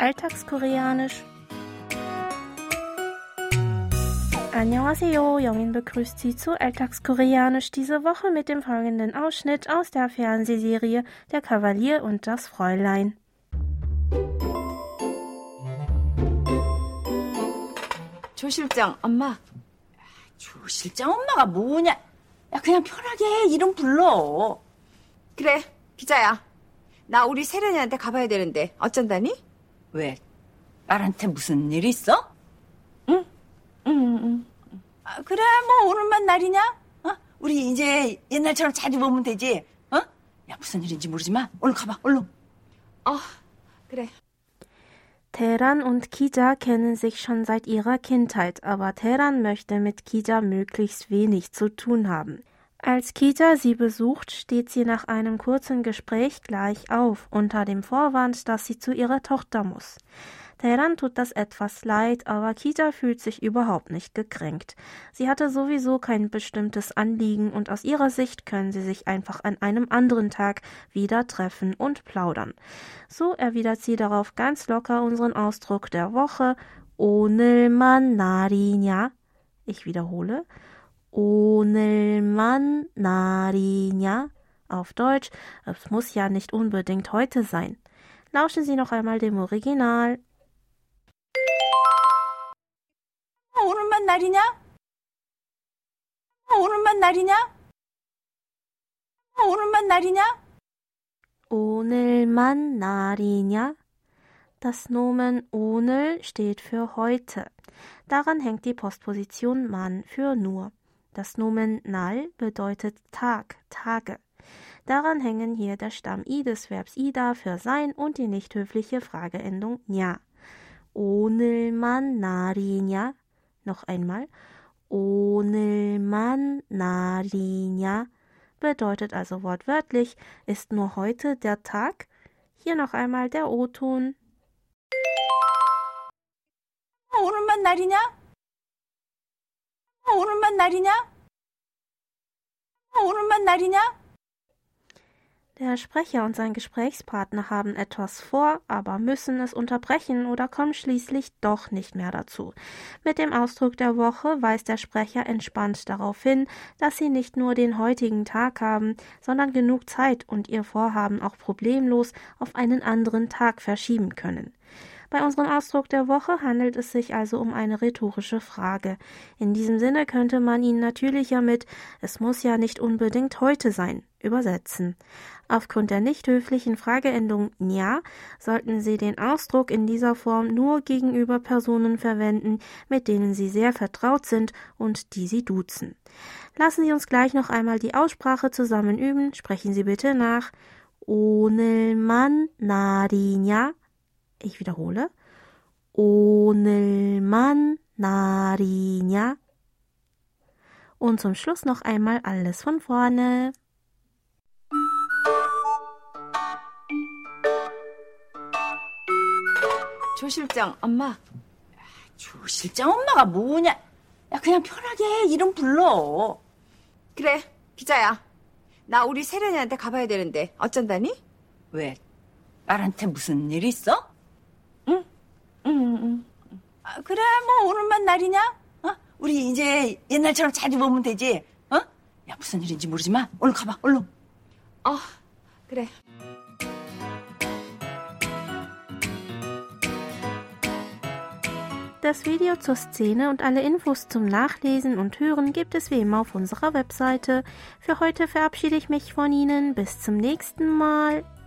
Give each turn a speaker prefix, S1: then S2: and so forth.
S1: Alltagskoreanisch. Annyeonghaseyo, Jongin begrüßt Sie zu Alltagskoreanisch diese Woche mit dem folgenden Ausschnitt aus der Fernsehserie Der Kavalier und das Fräulein.
S2: 조 실장 엄마. 조 실장 엄마가 뭐냐? 야 그냥 편하게 이름 불러. 그래 기자야. 나 우리 세련이한테 가봐야 되는데 어쩐다니? 왜? 딸한테 무슨 일 있어? 응. 아, 그래 뭐 오늘만 날이냐? 우리 이제 옛날처럼 자주 보면 되지. 야 무슨 일인지 모르지만 얼른 가봐 얼른. 그래.
S1: Taeran und Kija kennen sich schon seit ihrer Kindheit, aber Taeran möchte mit Kija möglichst wenig zu tun haben. Als Kija sie besucht, steht sie nach einem kurzen Gespräch gleich auf, unter dem Vorwand, dass sie zu ihrer Tochter muss. Taeran tut das etwas leid, aber Kija fühlt sich überhaupt nicht gekränkt. Sie hatte sowieso kein bestimmtes Anliegen und aus ihrer Sicht können sie sich einfach an einem anderen Tag wieder treffen und plaudern. So erwidert sie darauf ganz locker unseren Ausdruck der Woche, 오늘만 날이냐? Ich wiederhole, 오늘만 날이냐? Auf Deutsch, es muss ja nicht unbedingt heute sein. Lauschen Sie noch einmal dem Original.
S2: 오늘만 날이냐? 오늘만 날이냐? 오늘만 날이냐?
S1: 오늘만 날이냐? Das Nomen 오늘 steht für heute. Daran hängt die Postposition man für nur. Das Nomen 날 bedeutet Tag, Tage. Daran hängen hier der Stamm i des Verbs ida für sein und die nicht höfliche Frageendung 냐. 오늘만 날이냐? Noch einmal, 오늘만 날이냐 bedeutet also wortwörtlich, ist nur heute der Tag? Hier noch einmal der O-Ton.
S2: 오늘만 날이냐? 오늘만 날이냐? 오늘만 날이냐?
S1: Der Sprecher und sein Gesprächspartner haben etwas vor, aber müssen es unterbrechen oder kommen schließlich doch nicht mehr dazu. Mit dem Ausdruck der Woche weist der Sprecher entspannt darauf hin, dass sie nicht nur den heutigen Tag haben, sondern genug Zeit und ihr Vorhaben auch problemlos auf einen anderen Tag verschieben können. Bei unserem Ausdruck der Woche handelt es sich also um eine rhetorische Frage. In diesem Sinne könnte man ihn natürlicher mit »Es muss ja nicht unbedingt heute sein« übersetzen. Aufgrund der nicht höflichen Frageendung 냐 sollten Sie den Ausdruck in dieser Form nur gegenüber Personen verwenden, mit denen Sie sehr vertraut sind und die Sie duzen. Lassen Sie uns gleich noch einmal die Aussprache zusammen üben. Sprechen Sie bitte nach. 오늘만 날이냐? Ich wiederhole. 오늘만 날이냐? Und zum Schluss noch einmal alles von vorne.
S2: 조 실장 엄마. 조 실장 엄마가 뭐냐? 야 그냥 편하게 이름 불러. 그래 기자야. 나 우리 세련이한테 가봐야 되는데 어쩐다니? 왜? 딸한테 무슨 일 있어? 응. 아, 그래 뭐 오늘만 날이냐? 우리 이제 옛날처럼 자주 보면 되지. 야 무슨 일인지 모르지만 얼른 가봐 얼른. 그래.
S1: Das Video zur Szene und alle Infos zum Nachlesen und Hören gibt es wie immer auf unserer Webseite. Für heute verabschiede ich mich von Ihnen. Bis zum nächsten Mal.